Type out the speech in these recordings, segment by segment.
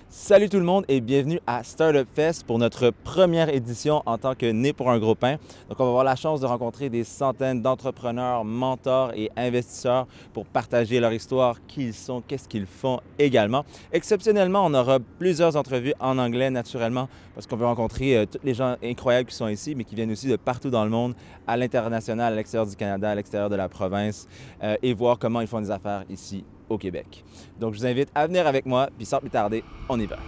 Salut tout le monde et bienvenue à Startup Fest pour notre première édition en tant que Né pour un gros pain. Donc on va avoir la chance de rencontrer des centaines d'entrepreneurs, mentors et investisseurs pour partager leur histoire, qui ils sont, qu'est-ce qu'ils font également. Exceptionnellement, on aura plusieurs entrevues en anglais naturellement parce qu'on veut rencontrer tous les gens incroyables qui sont ici mais qui viennent aussi de partout dans le monde, à l'international, à l'extérieur du Canada, à l'extérieur de la province et voir comment ils font des affaires ici au Québec. Donc, je vous invite à venir avec moi, puis sans plus tarder, on y va.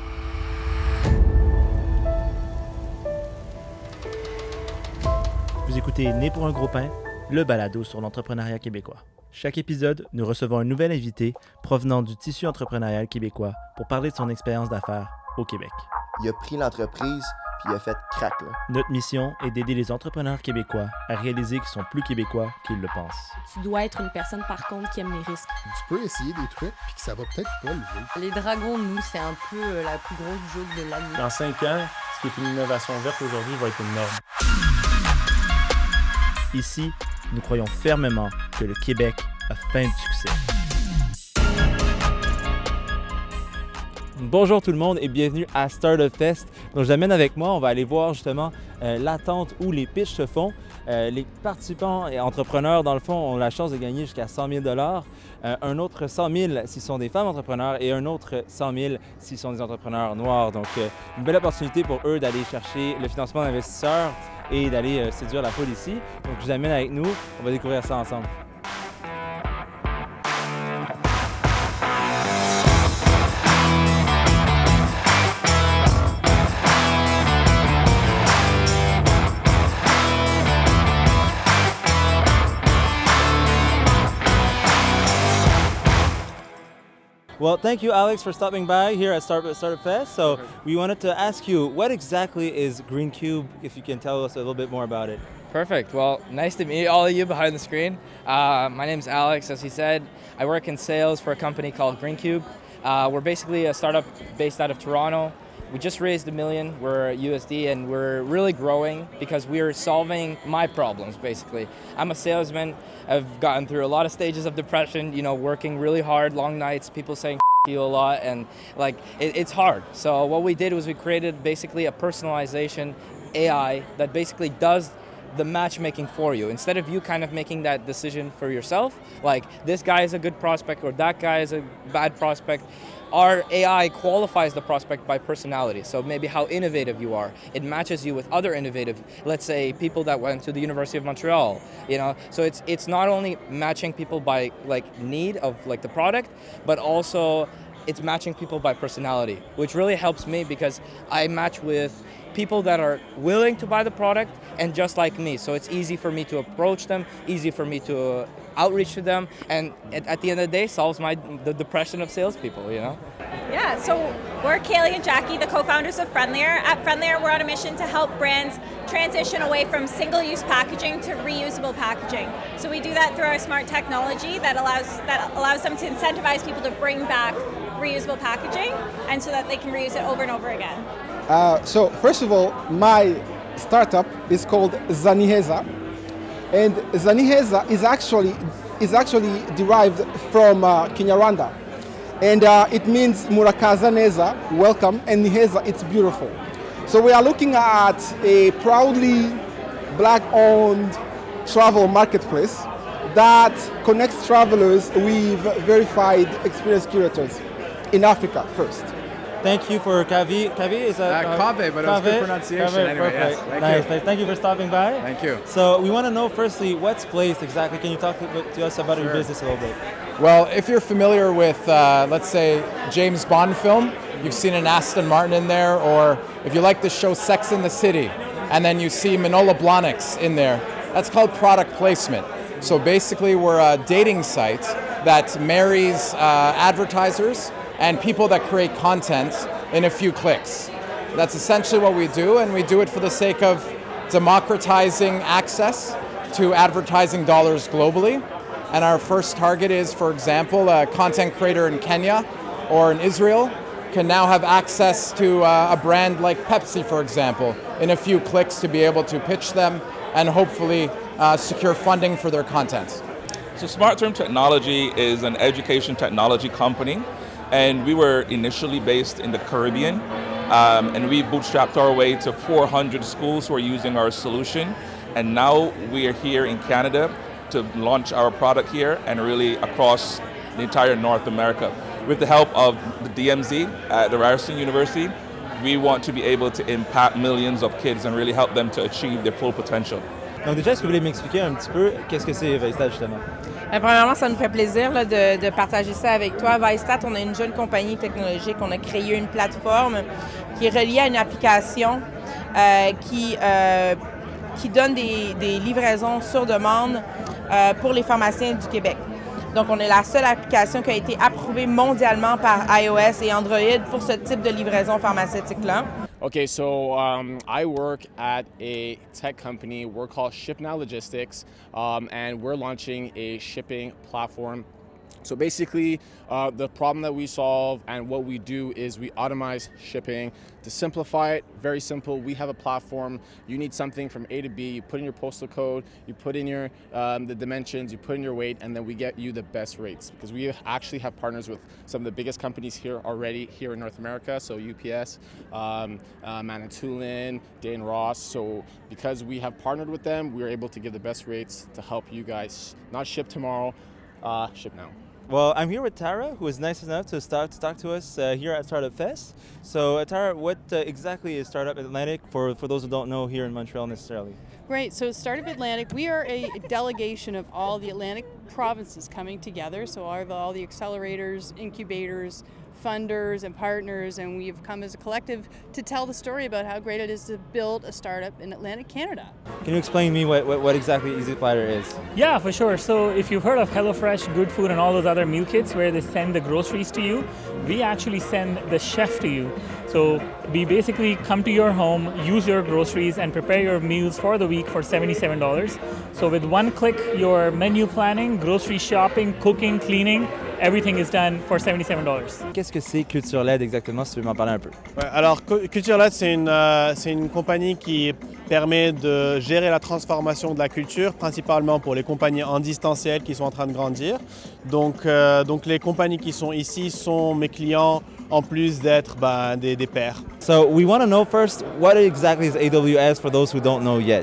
Vous écoutez Né pour un gros pain, le balado sur l'entrepreneuriat québécois. Chaque épisode, nous recevons un nouvel invité provenant du tissu entrepreneurial québécois pour parler de son expérience d'affaires au Québec. Il a pris l'entreprise, puis il a fait crack, là. Notre mission est d'aider les entrepreneurs québécois à réaliser qu'ils sont plus québécois qu'ils le pensent. Tu dois être une personne, par contre, qui aime les risques. Tu peux essayer des trucs, puis que ça va peut-être pas lever. Les dragons, nous, c'est un peu la plus grosse joke de l'année. Dans 5 ans, ce qui est une innovation verte aujourd'hui va être une norme. Ici, nous croyons fermement que le Québec a faim de succès. Bonjour tout le monde et bienvenue à Startup Fest. Donc, je l'amène avec moi, on va aller voir justement l'attente où les pitchs se font. Les participants et entrepreneurs, dans le fond, ont la chance de gagner jusqu'à 100 000 $, un autre 100 000 s'ils sont des femmes entrepreneurs et un autre 100 000 s'ils sont des entrepreneurs noirs. Donc, une belle opportunité pour eux d'aller chercher le financement d'investisseurs et d'aller séduire la foule ici. Donc, je vous amène avec nous, on va découvrir ça ensemble. Well, thank you, Alex, for stopping by here at Startup Fest. So we wanted to ask you, what exactly is Green Cube, if you can tell us a little bit more about it? Perfect. Well, nice to meet all of you behind the screen. My name's Alex, as he said. I work in sales for a company called Green Cube. We're basically a startup based out of Toronto. We just raised $1 million, we're USD, and we're really growing because we're solving my problems, basically. I'm a salesman. I've gotten through a lot of stages of depression, working really hard, long nights, people saying you a lot, and it's hard. So what we did was we created basically a personalization AI that basically does the matchmaking for you. Instead of you kind of making that decision for yourself, like this guy is a good prospect or that guy is a bad prospect, our AI qualifies the prospect by personality. So maybe how innovative you are. It matches you with other innovative, let's say people that went to the University of Montreal, So it's not only matching people by need of the product, but also it's matching people by personality, which really helps me because I match with people that are willing to buy the product and just like me. So it's easy for me to approach them, easy for me to outreach to them, and at the end of the day, solves the depression of salespeople, Yeah, so we're Kaylee and Jackie, the co-founders of Friendlier. At Friendlier, we're on a mission to help brands transition away from single-use packaging to reusable packaging. So we do that through our smart technology that allows them to incentivize people to bring back reusable packaging, and so that they can reuse it over and over again. So first of all, my startup is called Zaniheza, and Zaniheza is actually derived from Kinyarwanda, and it means Murakaza Neza, welcome, and Niheza, it's beautiful. So we are looking at a proudly Black-owned travel marketplace that connects travelers with verified experience curators in Africa first. Thank you for Kavi. Kavi is a Kave, but it was good pronunciation. Kave, anyway, perfect. Yes. Nice. Thank you for stopping by. Thank you. So we want to know firstly, what's Placed exactly? Can you talk to us about your business a little bit? Well, if you're familiar with, let's say, James Bond film, you've seen an Aston Martin in there, or if you like the show Sex and the City, and then you see Manolo Blahniks in there, that's called product placement. So basically, we're a dating site that marries advertisers and people that create content in a few clicks. That's essentially what we do, and we do it for the sake of democratizing access to advertising dollars globally. And our first target is, for example, a content creator in Kenya or in Israel can now have access to a brand like Pepsi, for example, in a few clicks to be able to pitch them and hopefully secure funding for their content. So Smart Term Technology is an education technology company And we were initially based in the Caribbean, and we bootstrapped our way to 400 schools who are using our solution. And now we are here in Canada to launch our product here and really across the entire North America. With the help of the DMZ at the Ryerson University, we want to be able to impact millions of kids and really help them to achieve their full potential. Donc déjà, est-ce que vous voulez m'expliquer un petit peu qu'est-ce que c'est Vaistat justement? Premièrement, ça nous fait plaisir là, de partager ça avec toi. Vaistat, on est une jeune compagnie technologique. On a créé une plateforme qui est reliée à une application qui donne des livraisons sur demande pour les pharmaciens du Québec. Donc, on est la seule application qui a été approuvée mondialement par iOS et Android pour ce type de livraison pharmaceutique-là. Okay, so I work at a tech company. We're called ShipNow Logistics, and we're launching a shipping platform. So basically, the problem that we solve and what we do is we automate shipping. To simplify it, very simple. We have a platform. You need something from A to B. You put in your postal code, you put in your the dimensions, you put in your weight, and then we get you the best rates. Because we actually have partners with some of the biggest companies here already here in North America. So UPS, Manitoulin, Dane Ross. So because we have partnered with them, we're able to give the best rates to help you guys not ship tomorrow, ship now. Well, I'm here with Tara, who was nice enough to talk to us here at Startup Fest. So, Tara, what exactly is Startup Atlantic for those who don't know here in Montreal necessarily? Right, so Startup Atlantic, we are a delegation of all the Atlantic provinces coming together. So all the accelerators, incubators, funders and partners, and we've come as a collective to tell the story about how great it is to build a startup in Atlantic Canada. Can you explain to me what exactly Easy Platter is? Yeah, for sure. So if you've heard of HelloFresh, Good Food, and all those other meal kits where they send the groceries to you, we actually send the chef to you. So we basically come to your home, use your groceries, and prepare your meals for the week for $77. So with one click, your menu planning, grocery shopping, cooking, cleaning, everything is done for $77. Qu'est-ce que c'est Culture LED exactement, si tu veux m'en parler un peu? Ouais, alors Culture LED, c'est une compagnie qui permet de gérer la transformation de la culture, principalement pour les compagnies en distanciel qui sont en train de grandir. Donc les compagnies qui sont ici sont mes clients en plus d'être des pairs. So we want to know first, what exactly is AWS for those who don't know yet?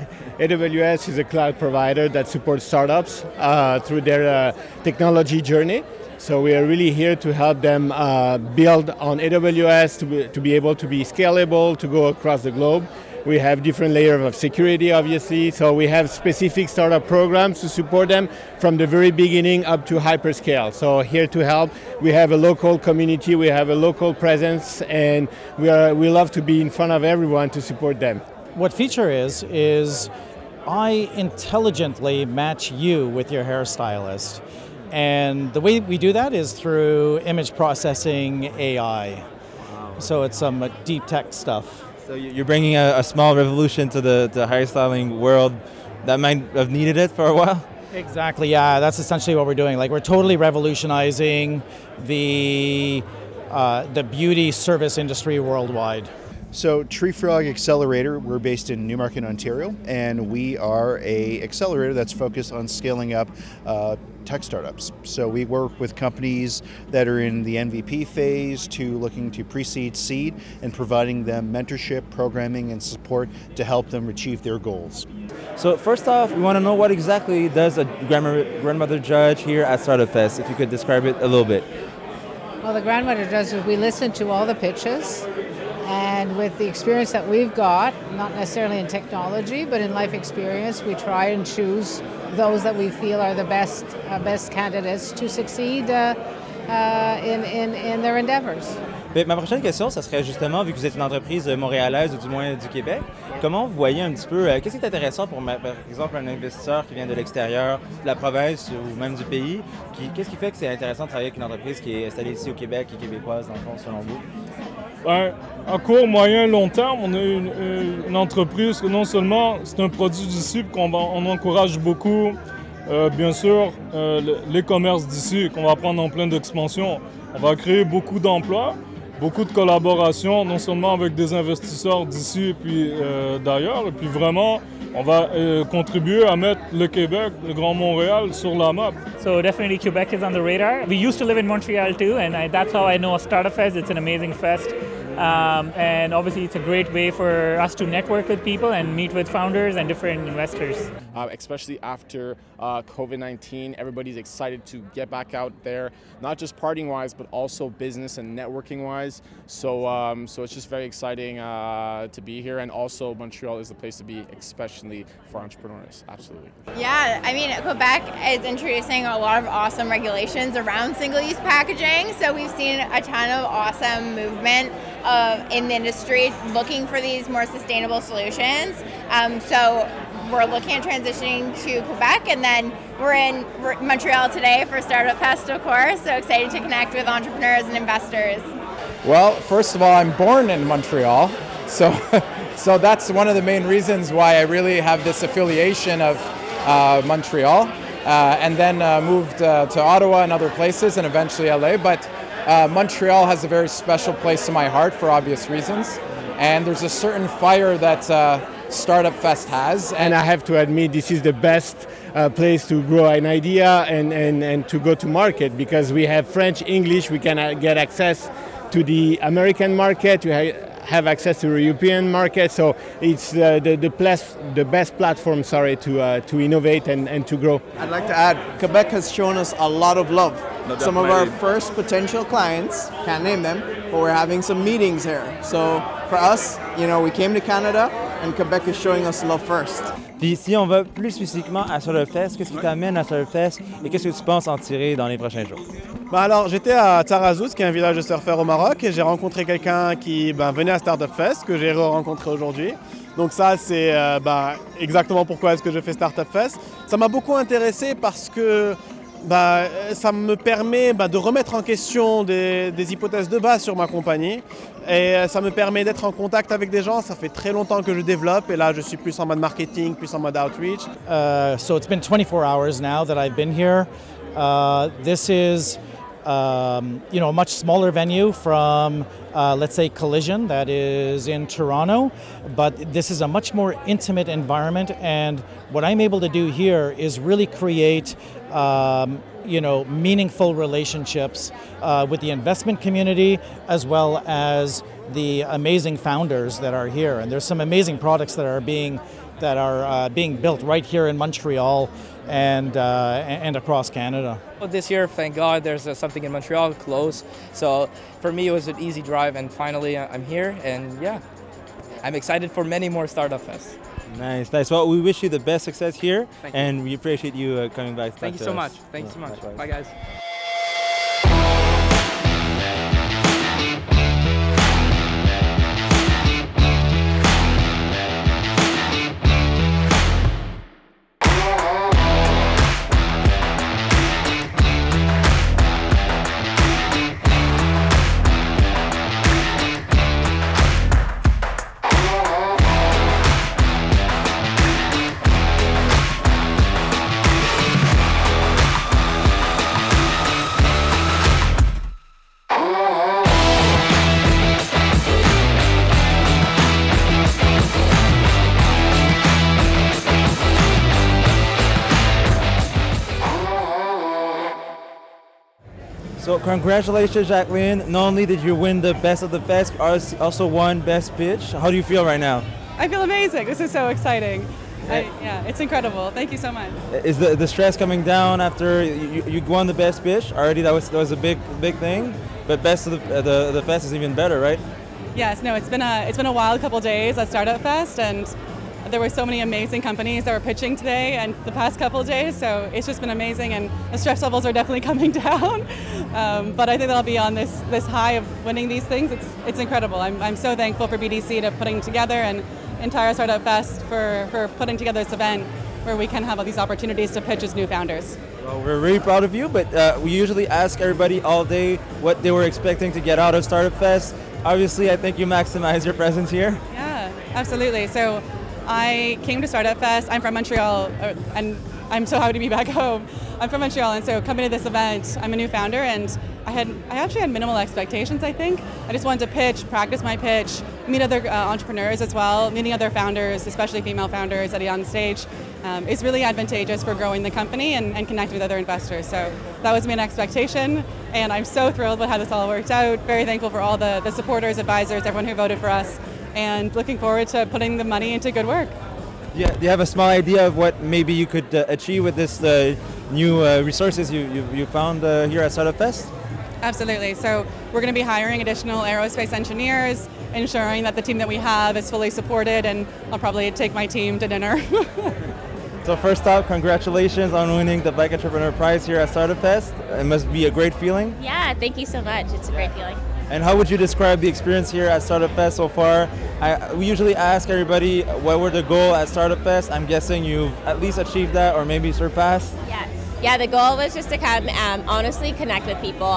AWS is a cloud provider that supports startups through their technology journey. So we are really here to help them build on AWS to be able to be scalable, to go across the globe. We have different layers of security, obviously. So we have specific startup programs to support them from the very beginning up to hyperscale. So here to help, we have a local community, we have a local presence, and we love to be in front of everyone to support them. What Feature is I intelligently match you with your hairstylist. And the way we do that is through image processing AI. So it's some deep tech stuff. So you're bringing a small revolution to the hairstyling world that might have needed it for a while? Exactly, yeah. That's essentially what we're doing. Like, we're totally revolutionizing the beauty service industry worldwide. So Tree Frog Accelerator, we're based in Newmarket, Ontario, and we are an accelerator that's focused on scaling up tech startups. So we work with companies that are in the MVP phase to looking to pre-seed, seed, and providing them mentorship, programming, and support to help them achieve their goals. So first off, we want to know what exactly does a grandmother judge here at Startup Fest, if you could describe it a little bit. Well, the grandmother judge is we listen to all the pitches. And with the experience that we've got, not necessarily in technology, but in life experience, we try and choose those that we feel are the best candidates to succeed in their endeavors. Bien, ma prochaine question, ça serait justement, vu que vous êtes une entreprise montréalaise ou du moins du Québec, comment vous voyez un petit peu, qu'est-ce qui est intéressant pour, par exemple, un investisseur qui vient de l'extérieur, de la province ou même du pays, qu'est-ce qui fait que c'est intéressant de travailler avec une entreprise qui est installée ici au Québec et québécoise, dans le fond, selon vous? À court, moyen, long terme, on a une entreprise que non seulement c'est un produit d'ici, qu'on encourage beaucoup, bien sûr, les commerces d'ici, qu'on va prendre en pleine expansion. On va créer beaucoup d'emplois, beaucoup de collaborations, non seulement avec des investisseurs d'ici et puis d'ailleurs, et puis vraiment, on va contribuer à mettre le Québec, le Grand Montréal sur la map. So definitely Quebec is on the radar. We used to live in Montreal too, and that's how I know Startup Fest. It's an amazing fest. And obviously it's a great way for us to network with people and meet with founders and different investors. Especially after COVID-19, everybody's excited to get back out there, not just partying-wise, but also business and networking-wise. So it's just very exciting to be here, and also Montreal is the place to be, especially for entrepreneurs. Absolutely. Yeah, I mean, Quebec is introducing a lot of awesome regulations around single-use packaging, so we've seen a ton of awesome movement in the industry looking for these more sustainable solutions. So we're looking at transitioning to Quebec, and then we're in Montreal today for Startup Fest, of course, so excited to connect with entrepreneurs and investors. Well, first of all, I'm born in Montreal, so that's one of the main reasons why I really have this affiliation of Montreal, and then moved to Ottawa and other places, and eventually LA, but Montreal has a very special place in my heart for obvious reasons, and there's a certain fire that Startup Fest has. And I have to admit, this is the best place to grow an idea and to go to market, because we have French, English, we can get access to the American market, we have access to the European market, so it's the best platform, to innovate and to grow. I'd like to add, Quebec has shown us a lot of love. Some of our first potential clients, can't name them, but we're having some meetings here. So for us, we came to Canada, and Quebec is showing us love first. Puis si on va plus spécifiquement à Startup Fest, qu'est-ce qui t'amène à Startup Fest et qu'est-ce que tu penses en tirer dans les prochains jours? Alors, j'étais à Tarazout, qui est un village de surfeurs au Maroc, et j'ai rencontré quelqu'un qui venait à Startup Fest, que j'ai rencontré aujourd'hui. Donc ça, c'est exactement pourquoi est-ce que je fais Startup Fest. Ça m'a beaucoup intéressé parce que ça me permet de remettre en question des hypothèses de base sur ma compagnie, et ça me permet d'être en contact avec des gens. Ça fait très longtemps que je développe, et là je suis plus en mode marketing, plus en mode outreach. So it's been 24 hours now that I've been here. This is a much smaller venue from let's say Collision, that is in Toronto, but this is a much more intimate environment, and what I'm able to do here is really create meaningful relationships with the investment community, as well as the amazing founders that are here. And there's some amazing products that are being built right here in Montreal and across Canada. Well, this year, thank God, there's something in Montreal close. So for me, it was an easy drive, and finally I'm here, and yeah, I'm excited for many more Startup Fests. Nice. Well, we wish you the best success here, and we appreciate you coming by. Thank you so much. Thank you so much. Bye, guys. So congratulations, Jacqueline. Not only did you win the Best of the Fest, you also won Best Pitch. How do you feel right now? I feel amazing. This is so exciting. It's incredible. Thank you so much. Is the stress coming down after you won the Best Pitch? Already that was a big thing, but Best of the Fest is even better, right? Yes. No. It's been a wild couple days at Startup Fest, and there were so many amazing companies that were pitching today and the past couple of days, so it's just been amazing, and the stress levels are definitely coming down. But I think they'll be on this high of winning these things. It's incredible. I'm so thankful for BDC to putting together, and entire Startup Fest for putting together this event where we can have all these opportunities to pitch as new founders. Well, we're really proud of you, but we usually ask everybody all day what they were expecting to get out of Startup Fest. Obviously, I think you maximize your presence here. Yeah, absolutely. So I came to Startup Fest. I'm from Montreal, and I'm so happy to be back home. I'm from Montreal, and so coming to this event, I'm a new founder, and I actually had minimal expectations, I think. I just wanted to pitch, practice my pitch, meet other entrepreneurs as well. Meeting other founders, especially female founders at a young stage, is really advantageous for growing the company and connecting with other investors. So that was my expectation, and I'm so thrilled with how this all worked out. Very thankful for all the supporters, advisors, everyone who voted for us, and looking forward to putting the money into good work. Yeah, do you have a small idea of what maybe you could achieve with this new resources you found here at Startup Fest? Absolutely. So we're going to be hiring additional aerospace engineers, ensuring that the team that we have is fully supported, and I'll probably take my team to dinner. So first off, congratulations on winning the Black Entrepreneur Prize here at Startup Fest. It must be a great feeling. Yeah, thank you so much. It's a great feeling. And how would you describe the experience here at Startup Fest so far? We usually ask everybody what were the goal at Startup Fest. I'm guessing you've at least achieved that or maybe surpassed. Yeah, the goal was just to come honestly connect with people.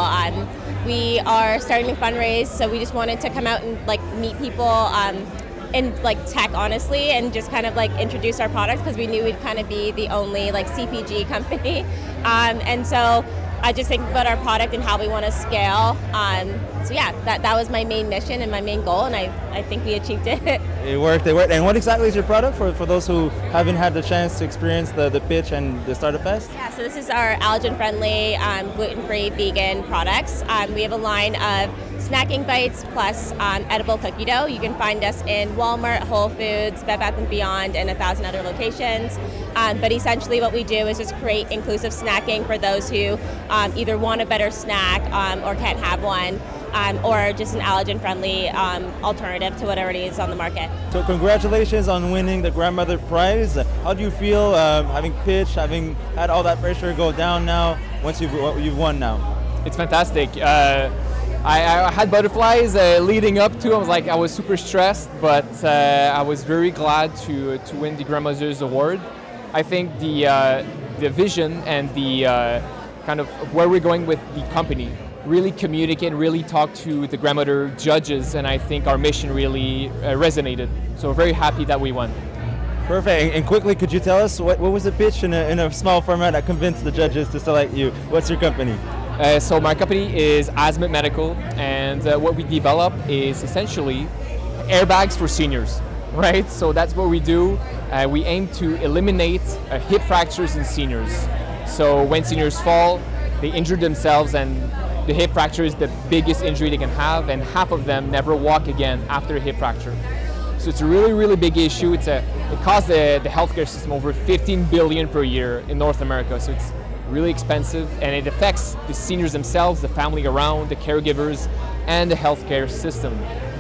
We are starting to fundraise, so we just wanted to come out and meet people in tech, honestly, and just kind of introduce our products, because we knew we'd kind of be the only CPG company. And so I just think about our product and how we want to scale. So yeah, that was my main mission and my main goal, and I think we achieved it. It worked. And what exactly is your product for those who haven't had the chance to experience the pitch and the Startup Fest? Yeah, so this is our allergen-friendly, gluten-free, vegan products. We have a line of snacking bites plus edible cookie dough. You can find us in Walmart, Whole Foods, Bed Bath & Beyond, and 1,000 other locations. But essentially what we do is just create inclusive snacking for those who either want a better snack or can't have one, or just an allergen-friendly alternative to whatever it is on the market. So congratulations on winning the Grandmother Prize. How do you feel having pitched, having had all that pressure go down now, once you've won now? It's fantastic. I had butterflies leading up to. I was super stressed, but I was very glad to win the Grandmother's Award. I think the vision and the kind of where we're going with the company really communicate and really talk to the Grandmother judges, and I think our mission really resonated. So we're very happy that we won. Perfect. And quickly, could you tell us what was the pitch in a small format that convinced the judges to select you? What's your company? So my company is Azimuth Medical, and what we develop is essentially airbags for seniors, right? So that's what we do. We aim to eliminate hip fractures in seniors. So when seniors fall, they injure themselves, and the hip fracture is the biggest injury they can have, and half of them never walk again after a hip fracture. So it's a really, really big issue. It costs the healthcare system over $15 billion per year in North America. So it's really expensive, and it affects the seniors themselves, the family around, the caregivers, and the healthcare system.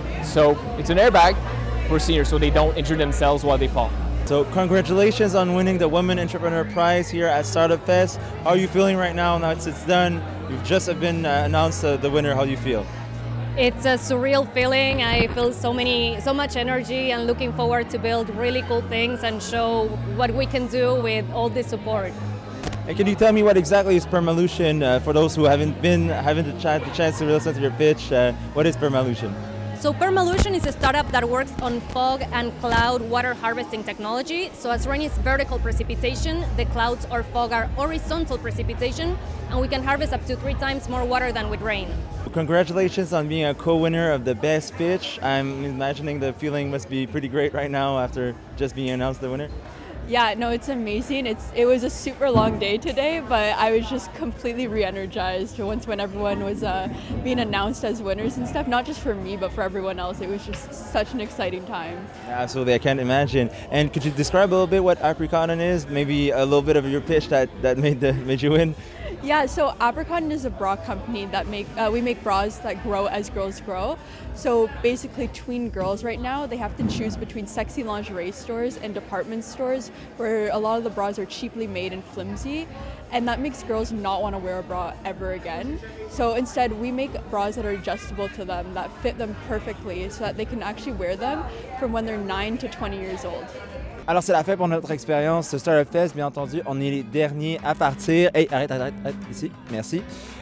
So it's an airbag for seniors so they don't injure themselves while they fall. So congratulations on winning the Women Entrepreneur Prize here at Startup Fest. How are you feeling right now that it's done? You've just been announced the winner. How do you feel? It's a surreal feeling. I feel so much energy, and looking forward to build really cool things and show what we can do with all this support. And can you tell me what exactly is Permalution for those who haven't the chance to listen to your pitch? What is Permalution? So Permalution is a startup that works on fog and cloud water harvesting technology. So as rain is vertical precipitation, the clouds or fog are horizontal precipitation, and we can harvest up to 3 times more water than with rain. Congratulations on being a co-winner of the best pitch. I'm imagining the feeling must be pretty great right now after just being announced the winner. Yeah, no, it's amazing. It was a super long day today, but I was just completely re-energized when everyone was being announced as winners and stuff. Not just for me, but for everyone else. It was just such an exciting time. Absolutely, I can't imagine. And could you describe a little bit what Apricotton is? Maybe a little bit of your pitch that made you win? Yeah, so Apricotton is a bra company that we make bras that grow as girls grow. So basically, tween girls right now, they have to choose between sexy lingerie stores and department stores where a lot of the bras are cheaply made and flimsy, and that makes girls not want to wear a bra ever again. So instead, we make bras that are adjustable to them, that fit them perfectly, so that they can actually wear them from when they're 9 to 20 years old. Alors, c'est la fin pour notre expérience Startup Fest. Bien entendu, on est les derniers à partir. Hey, arrête, ici. Merci.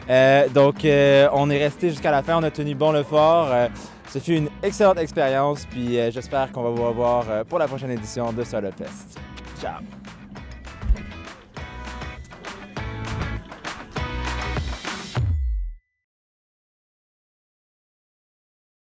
Donc, on est resté jusqu'à la fin. On a tenu bon le fort. Ce fut une excellente expérience. Puis, j'espère qu'on va vous revoir pour la prochaine édition de Startup Fest. Ciao!